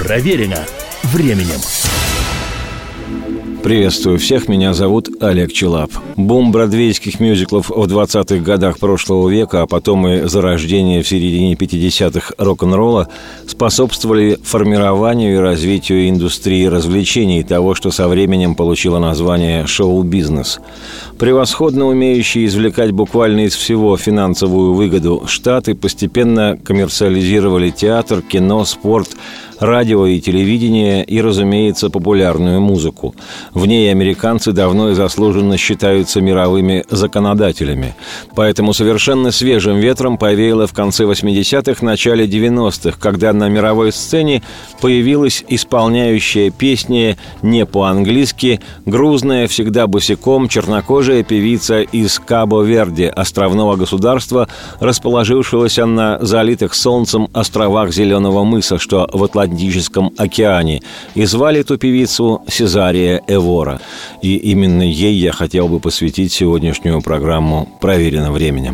Проверено временем. Приветствую всех, меня зовут Олег Челап. Бум бродвейских мюзиклов в 20-х годах прошлого века, а потом и зарождение в середине 50-х рок-н-ролла способствовали формированию и развитию индустрии развлечений, того, что со временем получило название шоу-бизнес. Превосходно умеющие извлекать буквально из всего финансовую выгоду, Штаты постепенно коммерциализировали театр, кино, спорт, радио и телевидение и, разумеется, популярную музыку. В ней американцы давно и заслуженно считаются мировыми законодателями. Поэтому совершенно свежим ветром повеяло в конце 80-х, начале 90-х, когда на мировой сцене появилась исполняющая песни не по-английски, грузная, всегда босиком, чернокожая певица из Кабо-Верде, островного государства, расположившегося на залитых солнцем островах Зеленого мыса, что в Атлантическом океане, и звали эту певицу Сезария Эвора. И именно ей я хотел бы посвятить сегодняшнюю программу «Проверено временем».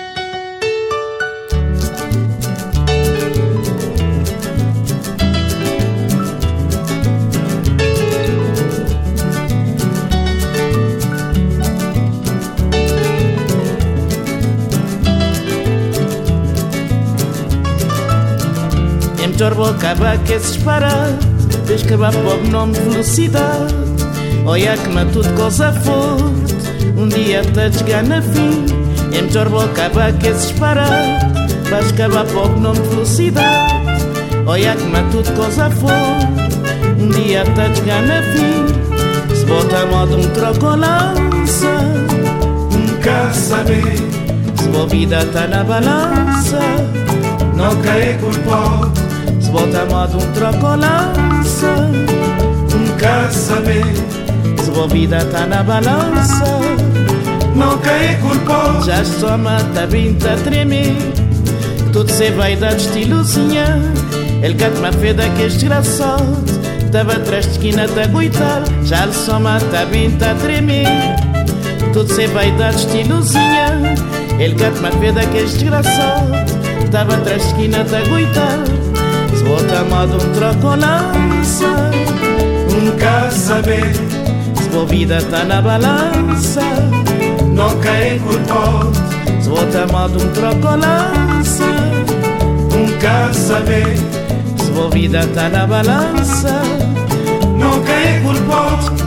Jorbo acaba que se espera, desde que vai para o nome de velocidade. Olha que na tudo coisa forte, dia te chegar na fim. Em Jorbo acaba que se espera, vais acabar para o nome de velocidade. Olha que na tudo coisa forte, dia te chegar na fim. Se bota a modo troco lança, nunca saber. Se a vida tá na balança, não cai culpado. Se bota a modo troco lança, nunca saber. Se a vida tá na balança, não cai culpado. Já só mata vinta a tremer, tudo se vai dar de estilozinha. Ele canta uma feda que é desgraçado, tava atrás de esquina de aguitar. Já só mata vinta a tremer, tudo se vai dar de estilozinha. Ele canta uma feda que é desgraçado, tava atrás de esquina de aguitar. Se bota a modo troco lança, nunca saber. Se a vida tá na balança, não cai culpado. Se bota a modo troco lança, nunca saber. Se a vida tá na balança, não cai culpado.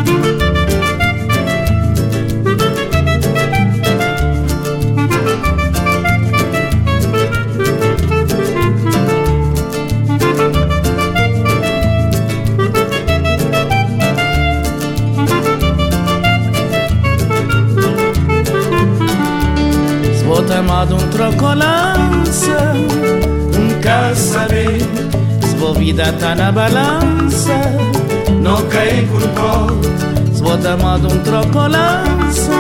Amado troco lança, nunca saber. Se a vida tá na balança, não cai culpado. Se bota amado troco lança,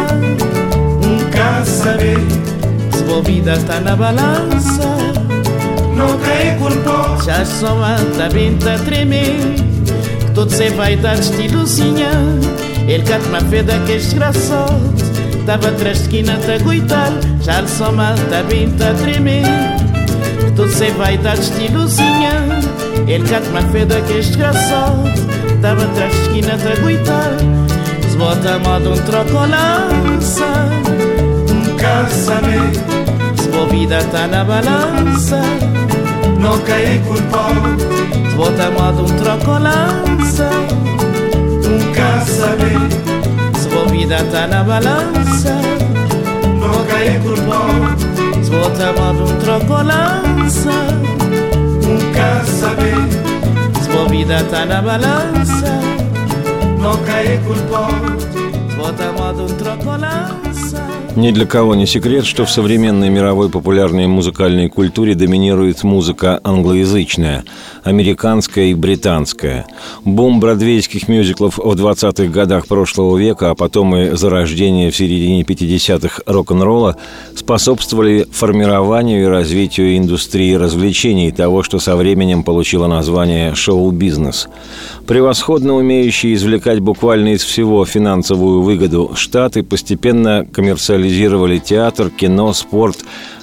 nunca saber. Se a vida tá na balança, não cai culpado. Já só anda bem a tremer, que tudo se vai dar de estilozinha. Ele canta uma feda que é desgraçado, tava atrás de esquina a aguitar. Já lhe só mata bem a tremer, que tudo se vai dar de estilozinha. Ele canta uma feda que é desgraçado, tava atrás de esquina a aguitar. Se bota a modo troco lança, nunca saber. Se a vida tá na balança, não cai culpado. Se bota a modo troco lança, nunca saber. Se a vida tá na balança, não cai culpado. Se bota a modo troco lança, nunca saber. Se a vida tá na balança, não cai culpado. Se bota a modo troco lança. Ни для кого не секрет, что в современной мировой популярной музыкальной культуре доминирует музыка англоязычная, американская и британская. Бум бродвейских мюзиклов в 20-х годах прошлого века, а потом и зарождение в середине 50-х рок-н-ролла способствовали формированию и развитию индустрии развлечений, того, что со временем получило название шоу-бизнес. Превосходно умеющие извлекать буквально из всего финансовую выгоду, Штаты постепенно коммерциализировали театр, кино, спорт,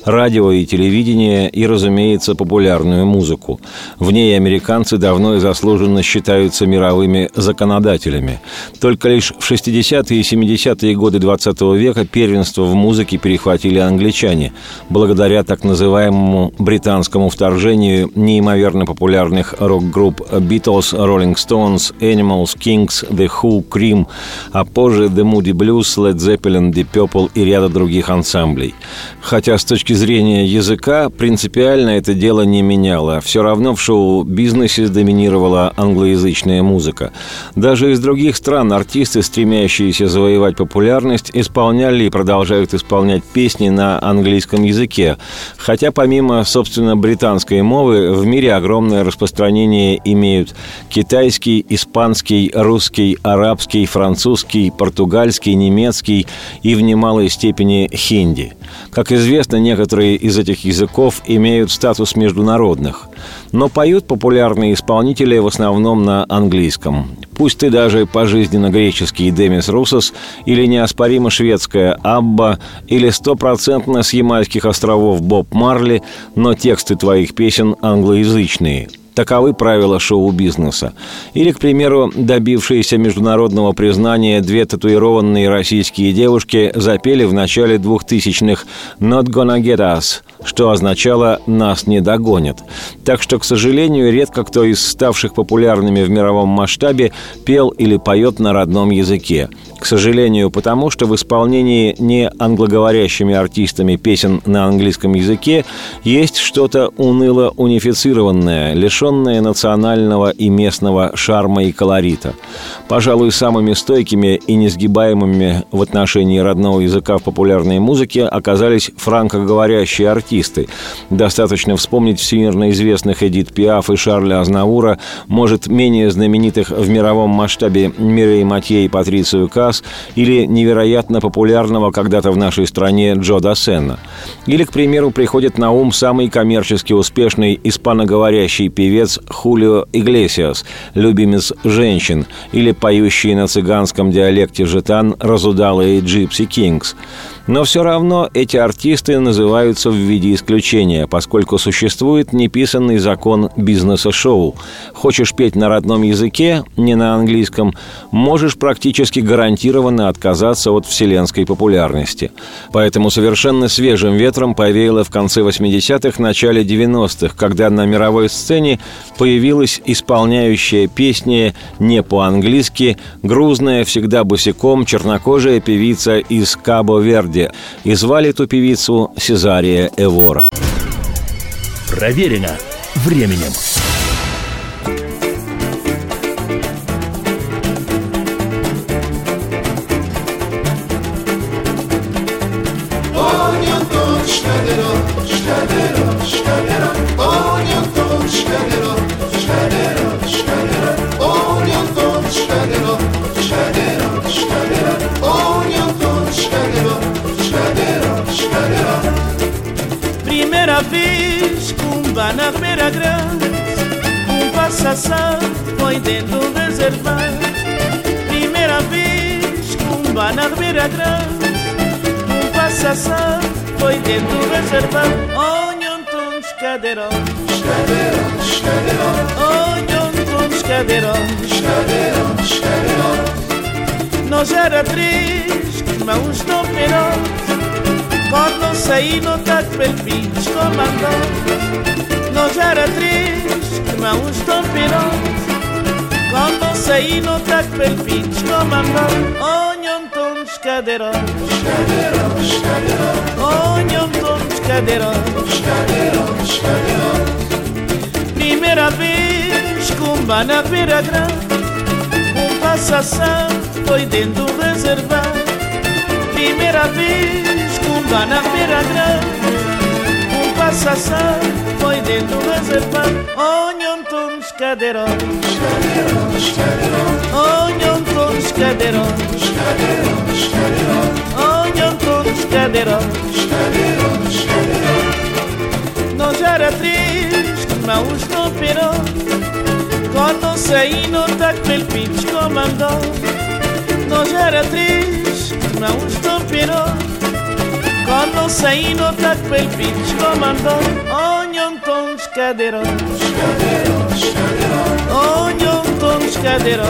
радио и телевидение и, разумеется, популярную музыку. В ней американцы давно и заслуженно считаются мировыми законодателями. Только лишь в 60-е и 70-е годы XX века первенство в музыке перехватили англичане, благодаря так называемому британскому вторжению неимоверно популярных рок-групп Beatles, Rolling Stones, Animals, Kings, The Who, Cream, а позже The Moody Blues, Led Zeppelin, Deep Purple и ряда других ансамблей. Хотя с точки зрения языка принципиально это дело не меняло. Все равно в шоу-бизнесе доминировала англоязычная музыка. Даже из других стран артисты, стремящиеся завоевать популярность, исполняли и продолжают исполнять песни на английском языке. Хотя помимо, собственно, британской мовы, в мире огромное распространение имеют китайский, испанский, русский, арабский, французский, португальский, немецкий и в немалой степени хинди. Как известно, некоторые из этих языков имеют статус международных. Но поют популярные исполнители в основном на английском. Пусть ты даже пожизненно греческий Демис Русос или неоспоримо шведская Абба или 100% с Ямайских островов Боб Марли, но тексты твоих песен англоязычные. Таковы правила шоу-бизнеса. Или, к примеру, добившиеся международного признания две татуированные российские девушки запели в начале 2000-х «Not gonna get us», что означало «нас не догонят». Так что, к сожалению, редко кто из ставших популярными в мировом масштабе пел или поет на родном языке. К сожалению, потому что в исполнении не англоговорящими артистами песен на английском языке есть что-то уныло-унифицированное, лишенное национального и местного шарма и колорита. Пожалуй, самыми стойкими и несгибаемыми в отношении родного языка в популярной музыке оказались франкоговорящие артисты. Достаточно вспомнить всемирно известных Эдит Пиаф и Шарля Азнавура, может, менее знаменитых в мировом масштабе Мирей Матье и Патрицию Касс, или невероятно популярного когда-то в нашей стране Джо Дассена. Или, к примеру, приходит на ум самый коммерчески успешный испаноговорящий певец Хулио Иглесиас, любимец женщин, или поющие на цыганском диалекте жетан разудалые Gypsy Kings. Но все равно эти артисты называются в виде исключения, поскольку существует неписанный закон бизнеса шоу. Хочешь петь на родном языке, не на английском, можешь практически гарантированно отказаться от вселенской популярности. Поэтому совершенно свежим ветром повеяло в конце 80-х, начале 90-х, когда на мировой сцене появилась исполняющая песни не по-английски, грузная, всегда босиком, чернокожая певица из Кабо-Верде. И звали эту певицу Сезария Эвора. Проверено временем. Primeira vez cumba na beira grande, passação foi dentro do reservado. Primeira vez cumba na beira grande, passação foi dentro do reservado. Onham tons cadeirão, cadeirão, cadeirão. Onham tons cadeirão, cadeirão, cadeirão. Nós era três mãos no perote. Quando saí no tac pelpins comandou. Nós era três irmãos tão pirotes. Quando saí no tac pelpins comandou. Onham tons cadeirões, cadeirões, cadeirões. Onham tons cadeirões, cadeirões, cadeirões. Primeira vez cumba na beira grande, passação foi dentro do reservado. Primeira vez cumba na beira grande, passação foi dentro do reservado. Onham tons cadeirões, cadeirões, cadeirões. Onham tons cadeirões, cadeirões, cadeirões. Onham tons cadeirões, cadeirões, cadeirões. Nós era três mãos no perão. Quando saí no tac pelpins comandou. Nós era três mãos no perão. quando sei no tac pel pitch comando ognon ton scadero ognon ton scadero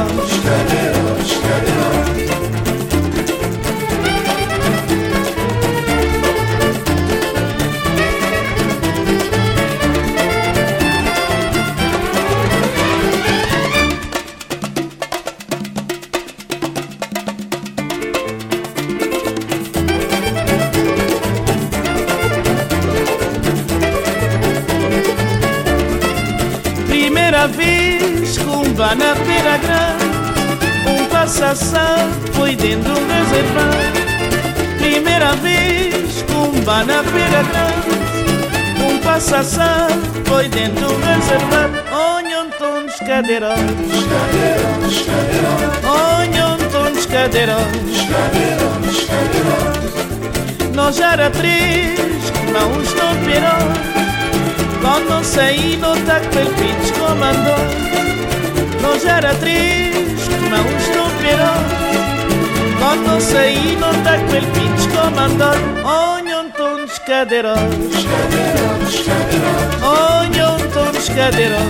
vez com na Pera Grande passação foi dentro do reservado. Primeira vez com na Pera Grande passação foi dentro do reservado. Onham tons cadeiros onham tons cadeiros nós era três não estou perão. Quando saí no tac pel pitch comandou nós era três, não estou perão. Quando saí no tac pel pitch comandou onham tons cadeiros onham tons cadeiros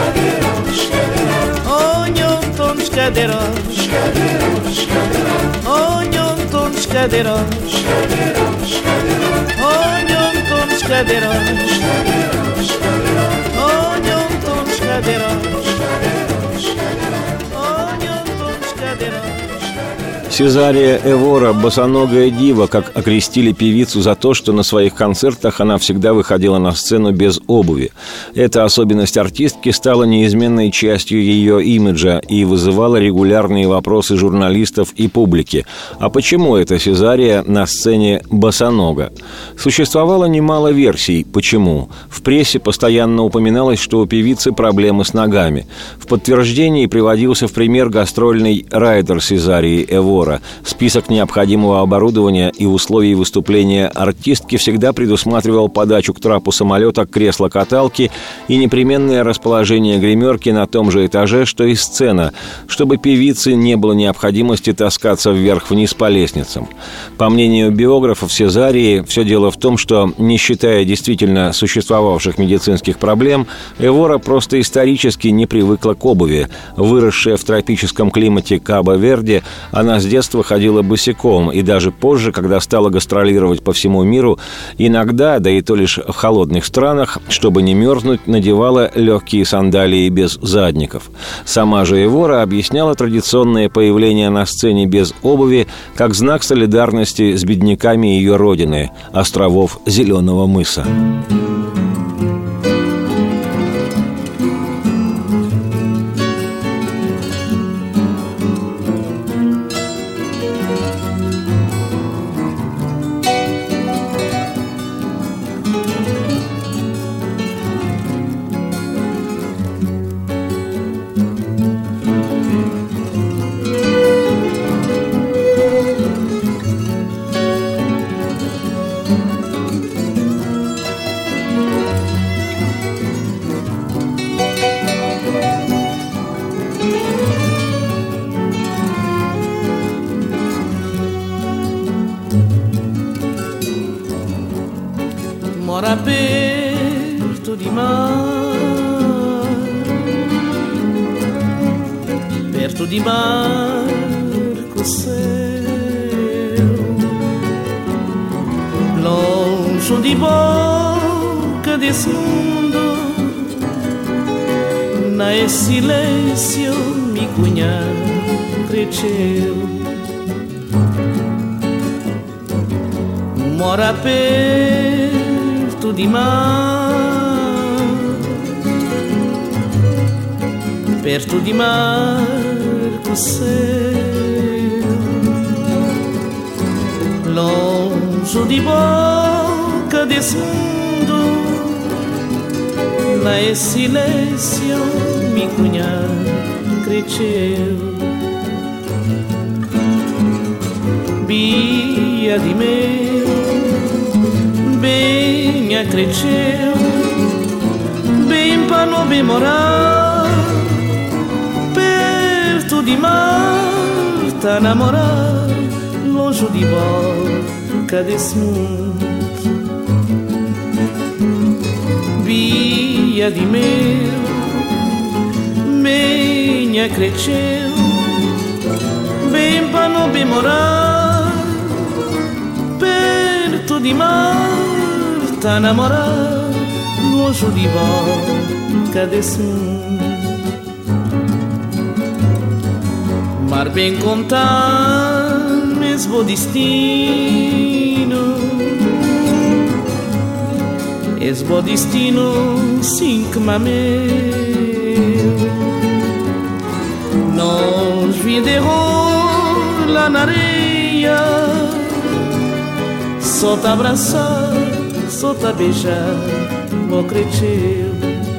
onham tons cadeiros onham tons cadeiros onham tons cadeiros Сезария Эвора, босоногая дива, как окрестили певицу за то, что на своих концертах она всегда выходила на сцену без обуви. Эта особенность артистки стала неизменной частью ее имиджа и вызывала регулярные вопросы журналистов и публики. А почему эта Сезария на сцене босонога? Существовало немало версий, почему. В прессе постоянно упоминалось, что у певицы проблемы с ногами. В подтверждении приводился в пример гастрольный райдер Сезарии Эвора. Список необходимого оборудования и условий выступления артистки всегда предусматривал подачу к трапу самолета кресла-каталки и непременное расположение гримерки на том же этаже, что и сцена, чтобы певице не было необходимости таскаться вверх-вниз по лестницам. По мнению биографов Сезарии, все дело в том, что, не считая действительно существовавших медицинских проблем, Эвора просто исторически не привыкла к обуви. Выросшая в тропическом климате Кабо-Верде, она с детства ходила босиком, и даже позже, когда стала гастролировать по всему миру, иногда, да и то лишь в холодных странах, чтобы не мерзнуть, надевала легкие сандалии без задников. Сама же Эвора объясняла традиционное появление на сцене без обуви как знак солидарности с бедняками ее родины, островов Зеленого мыса. Mora perto de mar, perto de barco céu, longe de boca desse mundo, na silêncio me cunhar cresceu. Mora perto de mar, perto de marco céu, longe de boca desse mundo, na silêncio me cunhar cresceu. Bia de meu, bem cresceu, bem para não bem morar, perto de mar, tá namorar, longe de boca desse mundo. Via de meu, minha cresceu, bem para não bem morar, perto de mar, tá namorar, longe de boca desse mundo. Mar bem contar, mesmo destino, es bo destino, sim que mameu. Nós vinderou lá na areia, só te abraçar, só te beijar, ó creteu.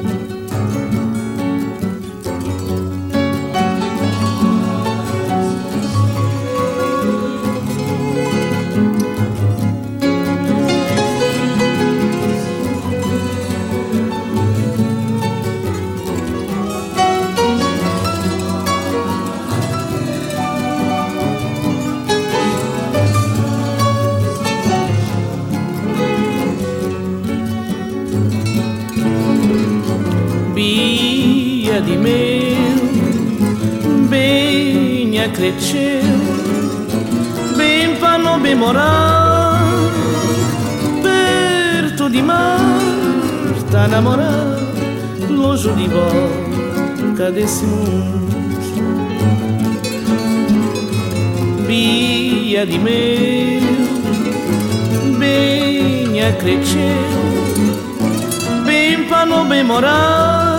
De meu, bem acrediteu, bem para não bem morar, perto de mar, tá namorar, longe de boca desse mundo. Bia de meu, bem acrediteu, bem para não bem morar,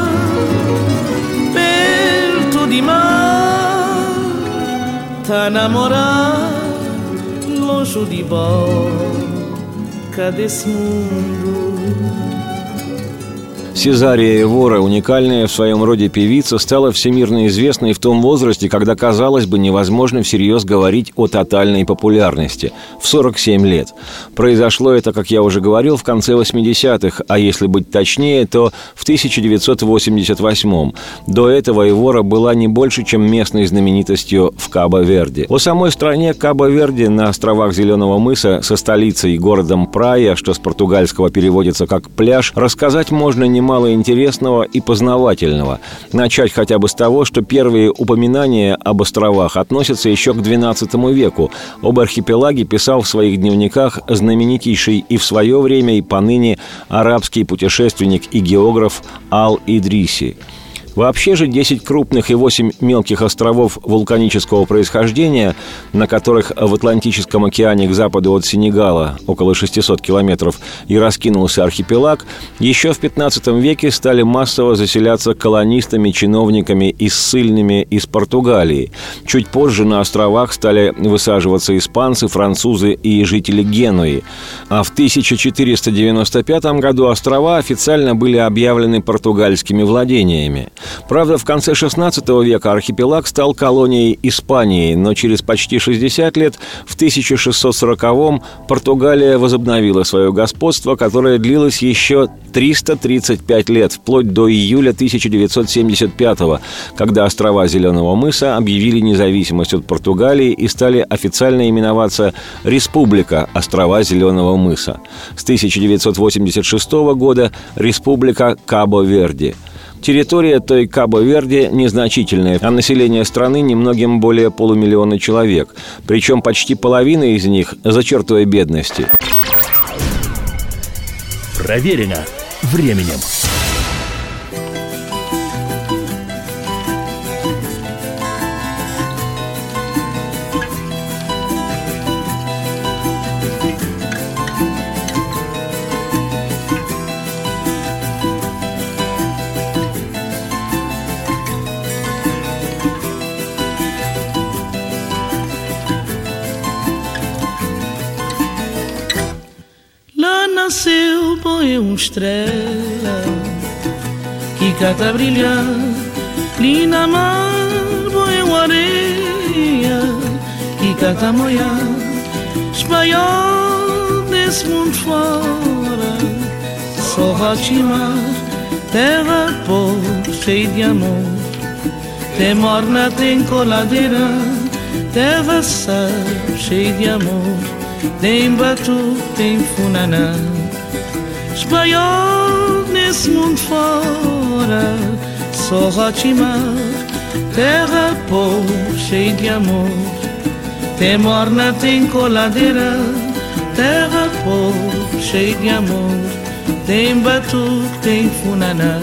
de mar, tá namorar, longe de boca desse mundo. Сезария Эвора, уникальная в своем роде певица, стала всемирно известной в том возрасте, когда, казалось бы, невозможно всерьез говорить о тотальной популярности – в 47 лет. Произошло это, как я уже говорил, в конце 80-х, а если быть точнее, то в 1988-м. До этого Эвора была не больше, чем местной знаменитостью в Кабо-Верде. О самой стране Кабо-Верде на островах Зеленого мыса со столицей городом Прая, что с португальского переводится как «пляж», рассказать можно немало интересного и познавательного. Начать хотя бы с того, что первые упоминания об островах относятся еще к XII веку. Об архипелаге писал в своих дневниках знаменитейший и в свое время, и поныне арабский путешественник и географ Ал-Идриси. Вообще же 10 крупных и 8 мелких островов вулканического происхождения, на которых в Атлантическом океане к западу от Сенегала, около 600 километров, и раскинулся архипелаг, еще в 15 веке стали массово заселяться колонистами, чиновниками и ссыльными из Португалии. Чуть позже на островах стали высаживаться испанцы, французы и жители Генуи. А в 1495 году острова официально были объявлены португальскими владениями. Правда, в конце XVI века архипелаг стал колонией Испании, но через почти 60 лет, в 1640-м, Португалия возобновила свое господство, которое длилось еще 335 лет, вплоть до июля 1975-го, когда острова Зеленого мыса объявили независимость от Португалии и стали официально именоваться Республика острова Зеленого мыса. С 1986 года Республика Кабо-Верде. Территория той Кабо-Верде незначительная, а население страны немногим более 500 000 человек. Причем почти половина из них за чертой бедности. Проверено временем. Nasceu, põe estrela que cata brilhar, linda mar, põe areia que cata moiar, espanhol desse mundo fora, só Rotimar, terra pobre, cheia de amor, tem morna, tem coladeira, terra sal, cheia de amor, tem batu, tem funaná. Espanhol nesse mundo fora, só rocha e mar, terra pobre, cheia de amor. Tem morna, tem coladeira, terra pobre, cheia de amor. Tem batuque, tem funaná.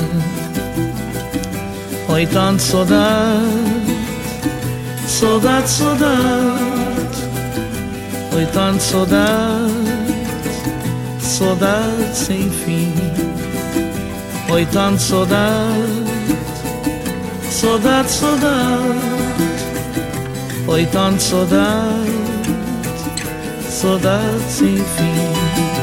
Oi, tanto saudade, saudade, saudade. Oi, tanto saudade, saudade sem fim. Oi, tanto saudade, saudade, saudade. Oi, tanto saudade, saudade sem fim.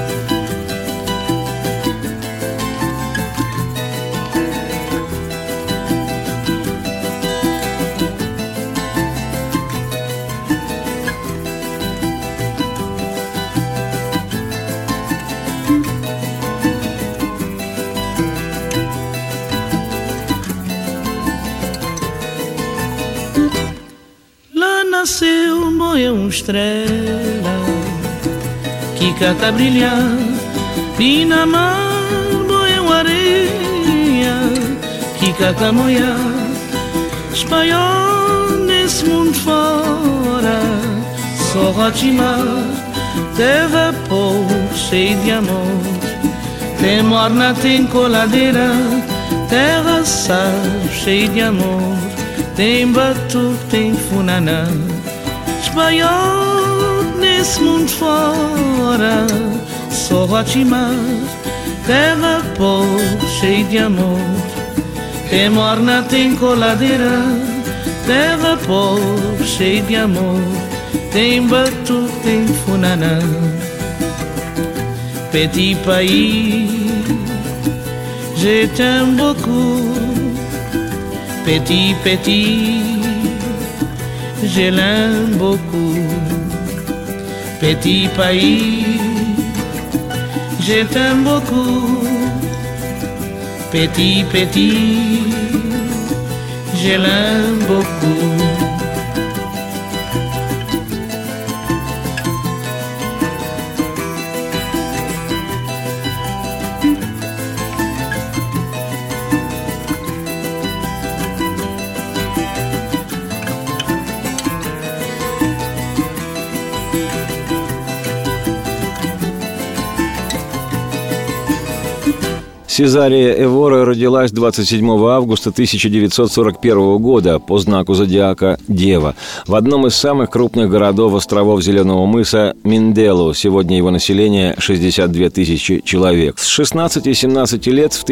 Nasceu um boi, uma estrela que cata brilhar, e na mar boi, uma areia que cata moiar. Espanhol nesse mundo fora, só rocha e mar, terra pobre, cheia de amor. Tem morna, tem coladeira, terra sal, cheia de amor. Tem batuque, tem funaná. Espanhol nesse mundo fora, só rocha e mar, terra pobre, cheia de amor. Tem morna, tem coladeira, terra pobre, cheia de amor. Tem batuque, tem funaná. Petit pays, je t'aime beaucoup. Petit, petit, je l'aime beaucoup. Petit pays, je t'aime beaucoup. Petit, petit, je l'aime beaucoup. Сезария Эвора родилась 27 августа 1941 года по знаку зодиака Дева в одном из самых крупных городов островов Зеленого мыса Минделу. Сегодня его население 62 тысячи человек. С 16 и 17 лет в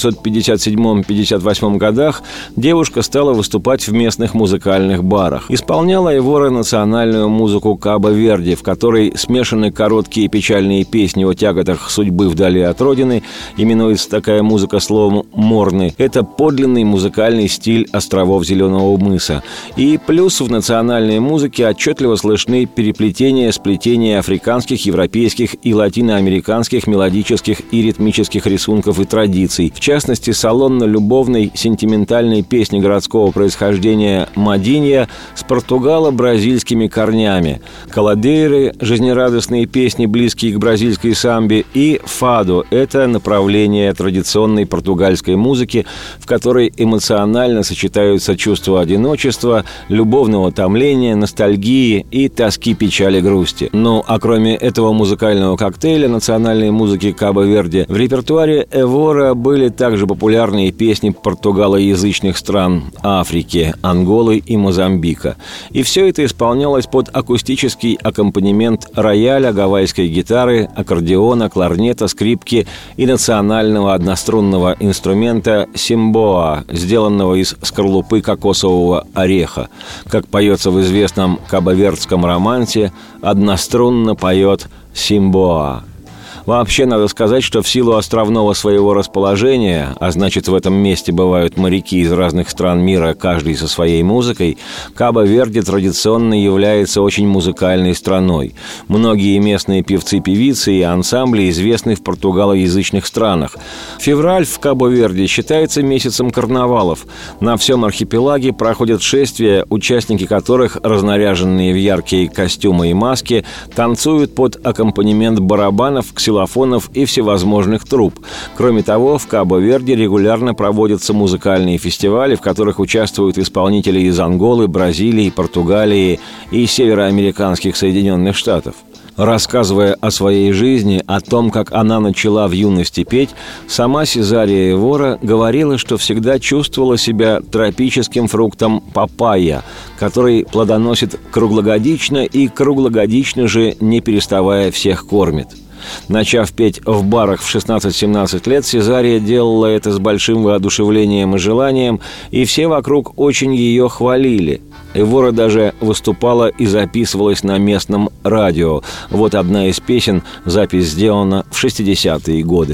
1957-58 годах девушка стала выступать в местных музыкальных барах. Исполняла Эвора национальную музыку Кабо-Верде, в которой смешаны короткие печальные песни о тяготах судьбы вдали от родины, именуется такая музыка словом «морны». Это подлинный музыкальный стиль островов Зеленого мыса. И плюс в национальной музыке отчетливо слышны переплетения, сплетения африканских, европейских и латиноамериканских мелодических и ритмических рисунков и традиций. В частности, салонно-любовной сентиментальной песни городского происхождения «Мадинья» с португало-бразильскими корнями, «Каладейры» – жизнерадостные песни, близкие к бразильской самбе, и «Фадо» – это направление традиционной португальской музыки, в которой эмоционально сочетаются чувства одиночества, любовного томления, ностальгии и тоски, печали, грусти. Ну, а кроме этого музыкального коктейля национальной музыки Кабо-Верде, в репертуаре Эвора были также популярные песни португалоязычных стран Африки, Анголы и Мозамбика. И все это исполнялось под акустический аккомпанемент рояля, гавайской гитары, аккордеона, кларнета, скрипки и национального однострунного инструмента симбоа, сделанного из скорлупы кокосового ореха. Как поется в известном кабо-вердском романсе, однострунно поет симбоа. Вообще, надо сказать, что в силу островного своего расположения, а значит, в этом месте бывают моряки из разных стран мира, каждый со своей музыкой, Кабо-Верде традиционно является очень музыкальной страной. Многие местные певцы-певицы и ансамбли известны в португалоязычных странах. Февраль в Кабо-Верде считается месяцем карнавалов. На всем архипелаге проходят шествия, участники которых, разнаряженные в яркие костюмы и маски, танцуют под аккомпанемент барабанов, ксилофонов ксилофонов и всевозможных труб. Кроме того, в Кабо-Верде регулярно проводятся музыкальные фестивали, в которых участвуют исполнители из Анголы, Бразилии, Португалии и североамериканских Соединенных Штатов. Рассказывая о своей жизни, о том, как она начала в юности петь, сама Сезария Эвора говорила, что всегда чувствовала себя тропическим фруктом папайя, который плодоносит круглогодично и круглогодично же, не переставая, всех кормит. Начав петь в барах в 16-17 лет, Сезария делала это с большим воодушевлением и желанием, и все вокруг очень ее хвалили. Эвора даже выступала и записывалась на местном радио. Вот одна из песен, запись сделана в 60-е годы.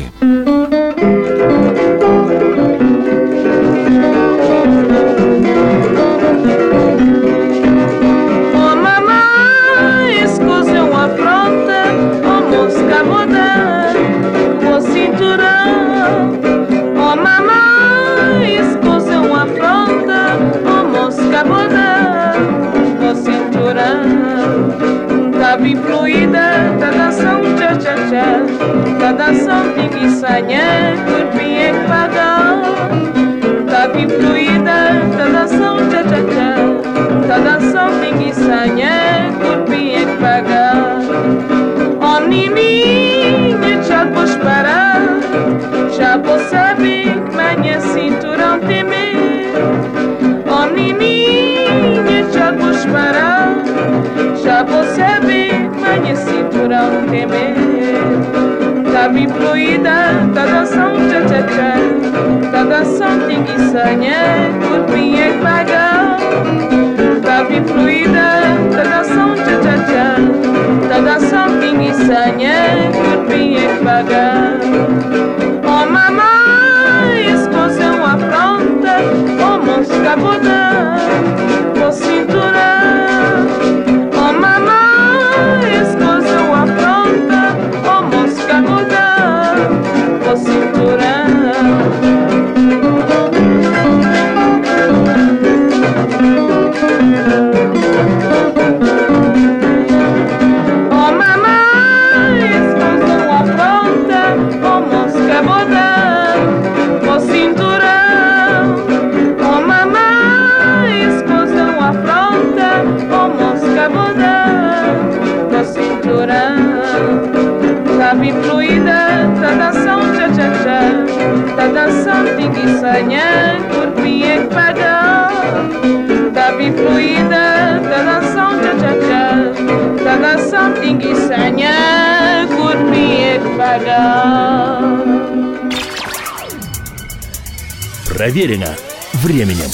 Fluida, tá dançando tcha-tcha-tcha, tá dançando pinguiçanha, corpinha que paga. Tá fluida, tá dançando tcha-tcha-tcha, tá dançando pinguiçanha, corpinha que paga. Oh, nininha, já vou parar, já vou saber que minha cintura tem medo. Oh, nininha, já vou parar, já vou saber que minha cintura tem medo. Tá bem fluida, tá dançando tcha-tcha-tcha, tá dançando tinguiçanha, corpinha que paga. Tá bem fluida, tá dançando tcha-tcha-tcha, tá dançando tinguiçanha, corpinha que paga. Oh, mamãe, escosão afronta, oh, moço cabodão, oh, cintura. Oh, mamãe, escosão afronta, oh, moço cabodão, oh, cintura. Tá dançando tinguiçanha, corpinha que paga. Tá bem fluida, tá dançando tcha-tcha-tcha, tá dançando tinguiçanha, corpinha que paga. Проверено временем.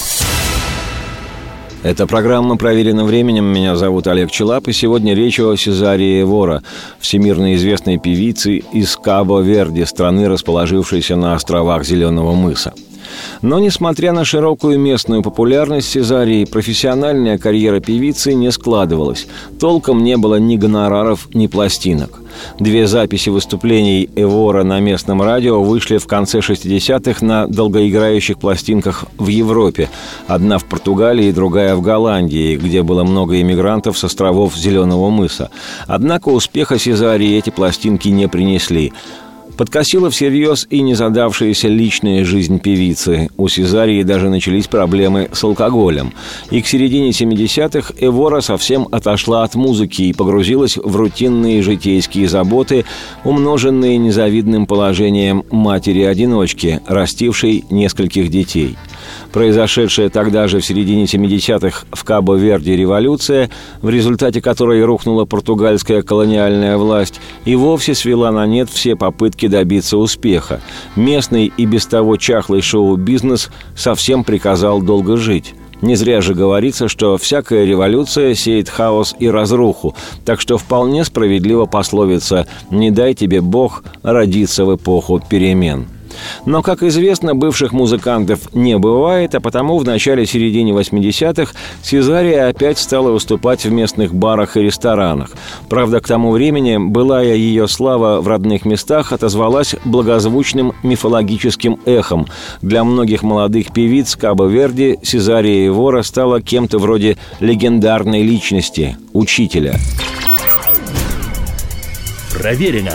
Эта программа «Проверена временем». Меня зовут Олег Челап, и сегодня речь о Сезарии Эвора, всемирно известной певице из Кабо-Верде, страны, расположившейся на островах Зеленого мыса. Но, несмотря на широкую местную популярность Сезарии, профессиональная карьера певицы не складывалась. Толком не было ни гонораров, ни пластинок. 2 записи выступлений Эвора на местном радио вышли в конце 60-х на долгоиграющих пластинках в Европе. Одна в Португалии, другая в Голландии, где было много иммигрантов с островов Зеленого мыса. Однако успеха Сезарии эти пластинки не принесли. Подкосила всерьез и незадавшаяся личная жизнь певицы. У Сезарии даже начались проблемы с алкоголем. И к середине 70-х Эвора совсем отошла от музыки и погрузилась в рутинные житейские заботы, умноженные незавидным положением матери-одиночки, растившей нескольких детей. Произошедшая тогда же в середине 70-х в Кабо-Верде революция, в результате которой рухнула португальская колониальная власть, и вовсе свела на нет все попытки добиться успеха. Местный и без того чахлый шоу-бизнес совсем приказал долго жить. Не зря же говорится, что всякая революция сеет хаос и разруху, так что вполне справедлива пословица «Не дай тебе Бог родиться в эпоху перемен». Но, как известно, бывших музыкантов не бывает, а потому в начале-середине 80-х Сезария опять стала выступать в местных барах и ресторанах. Правда, к тому времени былая ее слава в родных местах отозвалась благозвучным мифологическим эхом. Для многих молодых певиц Кабо-Верде Сезария Эвора стала кем-то вроде легендарной личности – учителя. Проверено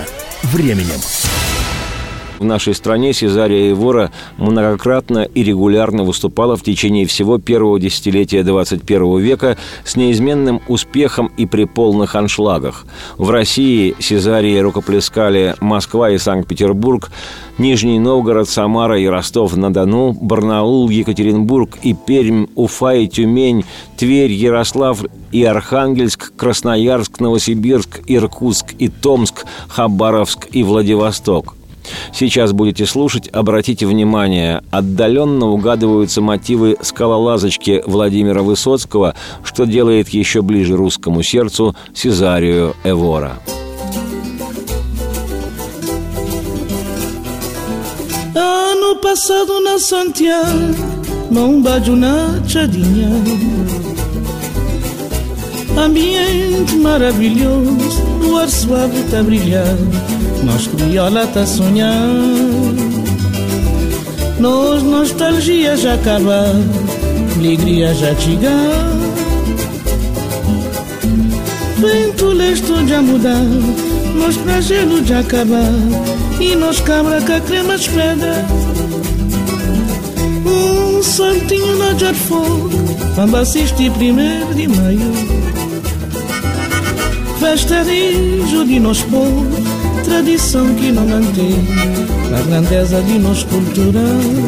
временем. В нашей стране Сезария Эвора многократно и регулярно выступала в течение всего первого десятилетия 21 века с неизменным успехом и при полных аншлагах. В России Сезарии рукоплескали Москва и Санкт-Петербург, Нижний Новгород, Самара и Ростов-на-Дону, Барнаул, Екатеринбург и Пермь, Уфа и Тюмень, Тверь, Ярославль и Архангельск, Красноярск, Новосибирск, Иркутск и Томск, Хабаровск и Владивосток. Сейчас будете слушать, обратите внимание, отдаленно угадываются мотивы «Скалолазочки» Владимира Высоцкого, что делает еще ближе русскому сердцу Сезарию Эвора. Ano passado na Santiago, num beijo na Tchadinha, ambiente maravilhoso, o ar suave tá brilhando. Nós criola tá sonhando, nós nostalgia já acabar, alegria já chegar. Vento leste já mudar, nós pra gelo já acabar, e nós cabra com a crema de pedra. Saltinho na jar fogo, vamos assistir 1º de maio. Festa rijo de nós povo, tradição que não mantém a grandeza de nossa cultura.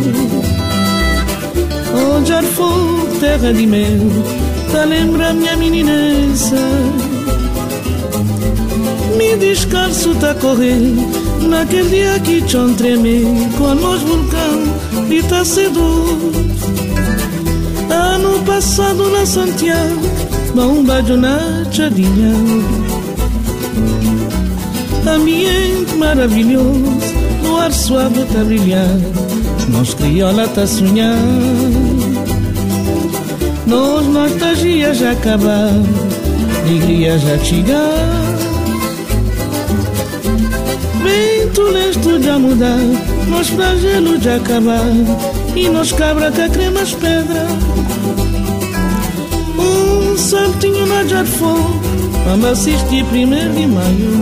Oh, jar fogo, terra de mel, tá lembra minha meninessa. Me descalço tá correr, naquele dia que chão treme, com nós vulcão e tá cedo. Ano passado na Santiago, um beijo na Tchadinha, ambiente maravilhoso, no ar suave tá brilhando, nós criola tá sonhando, nós nostalgia já acabar, alegria já chegar. Vento leste já mudar, nós pra gelo já acabar, e nós cabra com a crema as pedras. Saltinho na jar fogo, vamos assistir 1º de maio.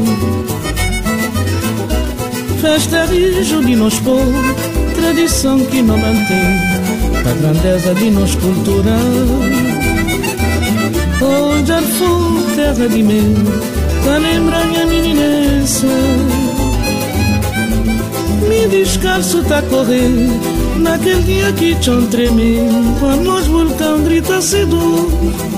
Festa rijo de nós povo, tradição que não mantém a grandeza de nossa cultura. Oh, jar fogo, terra de mel, tá lembra minha meninessa. Me descalço tá correr, naquele dia que chão treme, quando nós vulcão grita cedo.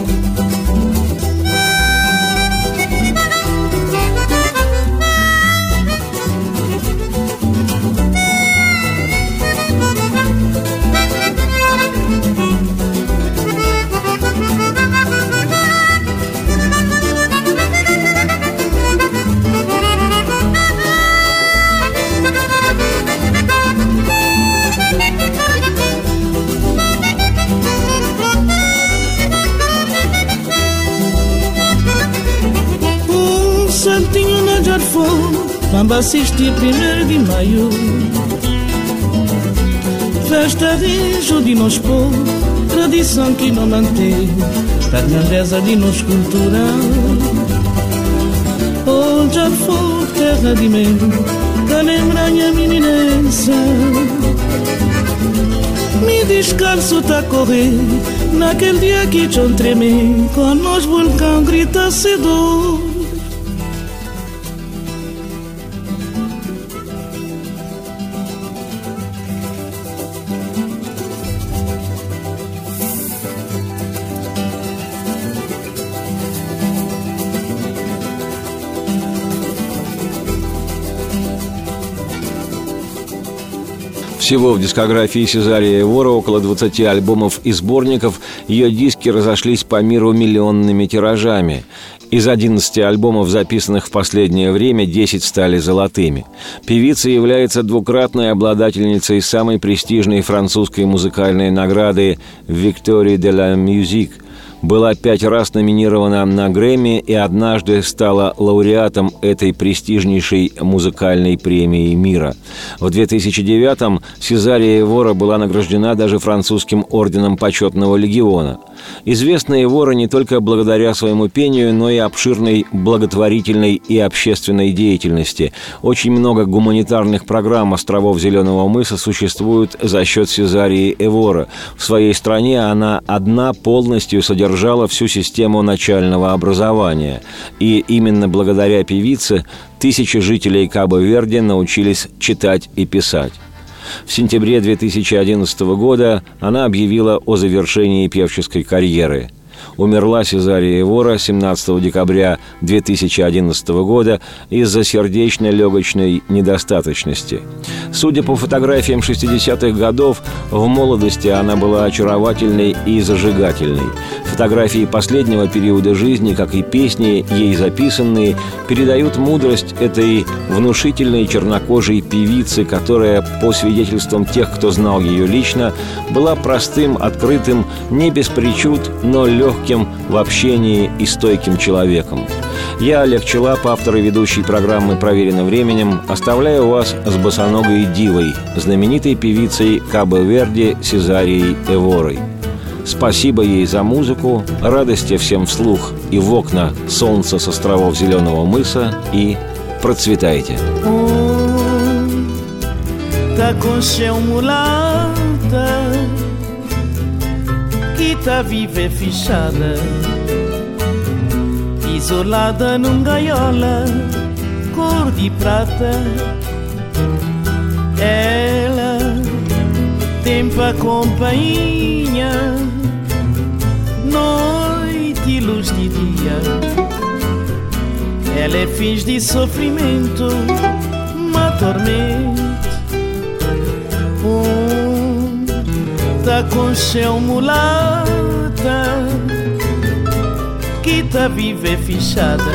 Saltinho na jar fogo, vamos assistir 1º de maio. Festa rijo de nós povo, tradição que não mantém a grandeza de nossa cultura. Oh, jar fogo, terra de mel, tá lembra minha meninessa. Me descalço tá correr, naquele dia que chão treme, com nós vulcão grita cedo. Всего в дискографии Сезарии Эвора около 20 альбомов и сборников. Ее диски разошлись по миру миллионными тиражами. Из 11 альбомов, записанных в последнее время, 10 стали золотыми. Певица является двукратной обладательницей самой престижной французской музыкальной награды «Victoire de la Musique». была 5 раз номинирована на Грэмми и однажды стала лауреатом этой престижнейшей музыкальной премии мира. В 2009-м Сезария Эвора была награждена даже французским орденом Почетного легиона. Известна Эвора не только благодаря своему пению, но и обширной благотворительной и общественной деятельности. Очень много гуманитарных программ островов Зеленого мыса существуют за счет Сезарии Эвора. В своей стране она одна полностью содержала всю систему начального образования. И именно благодаря певице тысячи жителей Кабо-Верде научились читать и писать. В сентябре 2011 года она объявила о завершении певческой карьеры. Умерла Сезария Эвора 17 декабря 2011 года из-за сердечно-легочной недостаточности. Судя по фотографиям 60-х годов, в молодости она была очаровательной и зажигательной. Фотографии последнего периода жизни, как и песни, ей записанные, передают мудрость этой внушительной чернокожей певицы, которая, по свидетельствам тех, кто знал ее лично, была простым, открытым, не без причуд, но легким в общении и стойким человеком. Я, Олег Челап, автор и ведущий программы «Проверено временем», оставляю вас с босоногой дивой, знаменитой певицей Кабо-Верде Сезарией Эворой. Спасибо ей за музыку, радости всем вслух и в окна солнца с островов Зеленого мыса, и процветайте. Que tá viva e fechada, isolada num gaiola, cor de prata. Ela tem pra companhia noite e luz de dia. Ela é fins de sofrimento, uma tormenta. Tá com chão mulata, que tá viva e fechada,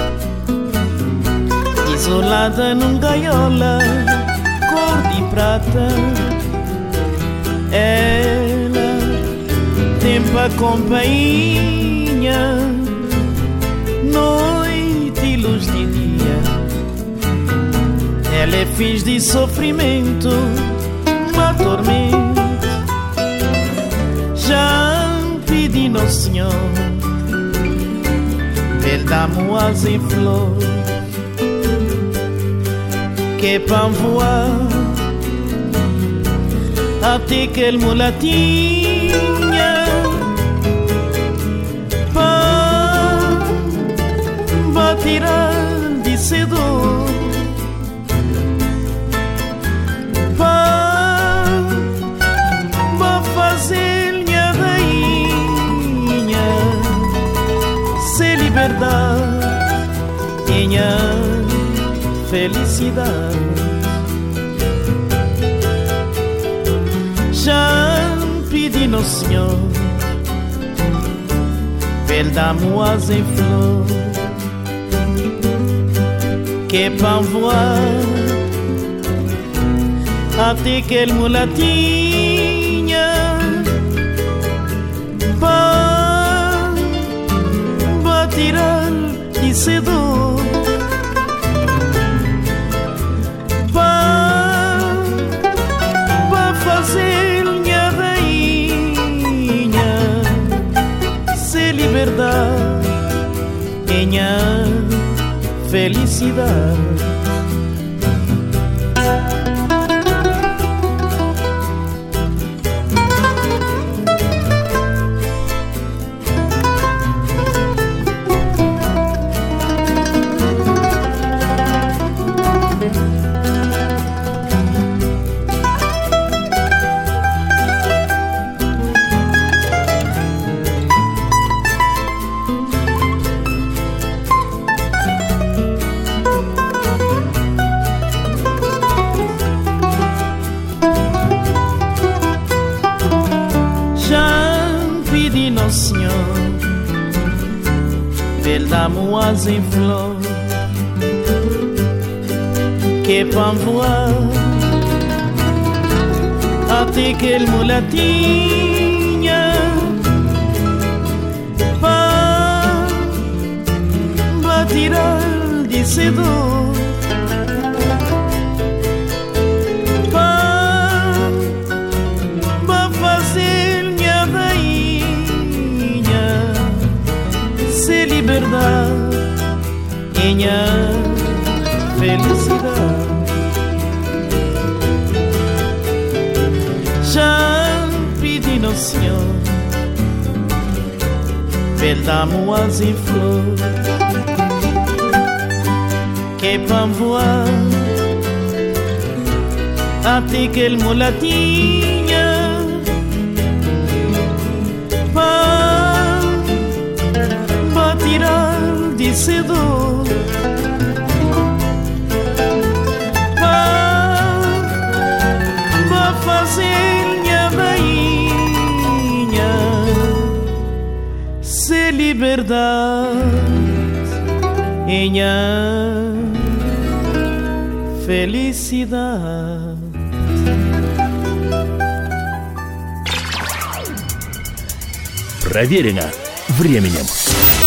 isolada num gaiola, cor de prata. Ela tem pra companhia noite e luz de dia. Ela é fins de sofrimento, uma tormenta. Já pedi no Senhor, Ele dá-me asas em flor, que é pra voar até aquele mulatinha, pra tirar de cedo, pra fazer minha felicidade. Já pedi no Senhor, Ele dá-me asas em flor, que é pra voar até aquele mulatinha, pra tirar de cedo, pra fazer minha rainha ser liberdade, minha felicidade. Dá-me asas em flor, que é pra voar até aquele mulatinha, vencedor. Para fazer minha rainha, ser liberdade e minha felicidade. Já pedi no Senhor, Veldamoas em flor, que para voar até aquele mulatinha, para tirar de cedo, para fazer minha rainha, ser liberdade e minha felicidade. Проверено временем.